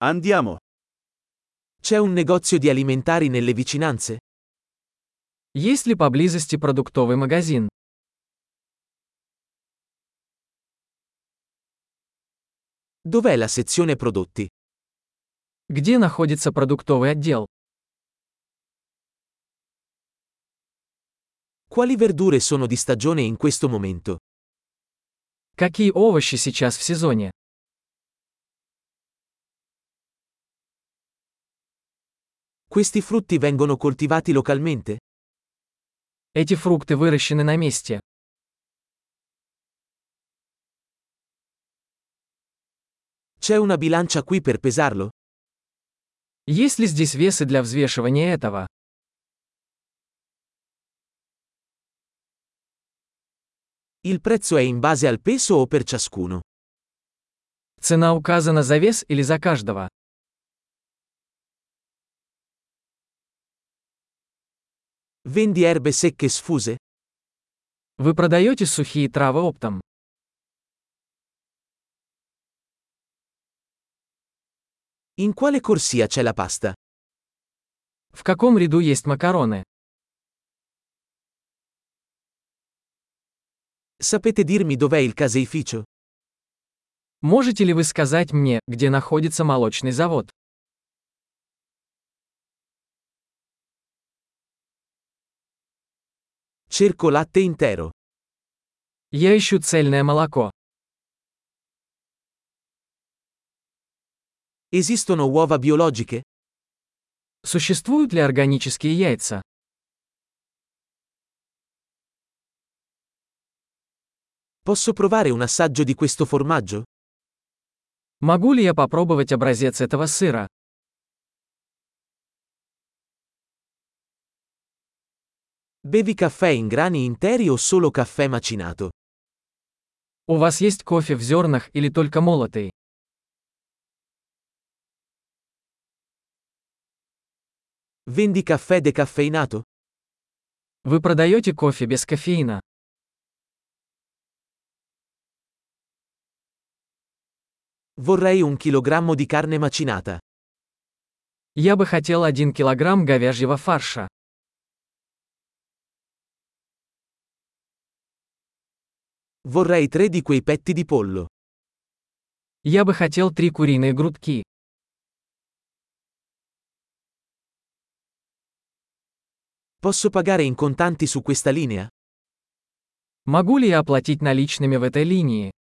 Andiamo. C'è un negozio di alimentari nelle vicinanze? Есть ли поблизости продуктовый магазин? Dov'è la sezione prodotti? Где находится продуктовый отдел? Quali verdure sono di stagione in questo momento? Какие овощи сейчас в сезоне? Questi frutti vengono coltivati localmente? Эти фрукты выращены на месте. C'è una bilancia qui per pesarlo? Есть ли здесь весы для взвешивания этого? Il prezzo è in base al peso o per ciascuno? Цена указана за вес или за каждого? Vendi erbe secche sfuse? Вы продаете сухие травы оптом? In quale corsia c'è la pasta? В каком ряду есть макароны? Sapete dirmi dov'è il caseificio? Можете ли вы сказать мне, где находится молочный завод? Cerco latte intero. Я ищу цельное молоко. Esistono uova biologiche? Существуют ли органические яйца? Posso provare un assaggio di questo formaggio? Могу ли я попробовать образец этого сыра? Bevi caffè in grani interi o solo caffè macinato? У вас есть кофе в зернах или только молотый? Vendi caffè decaffeinato? Вы продаете кофе без кофеина? Vorrei 1 chilogrammo di carne macinata. Я бы хотел 1 килограмм говяжьего фарша. Vorrei 3 di quei petti di pollo. Я бы хотел 3 куриные грудки. Posso pagare in contanti su questa linea? Могу ли я оплатить наличными в этой линии?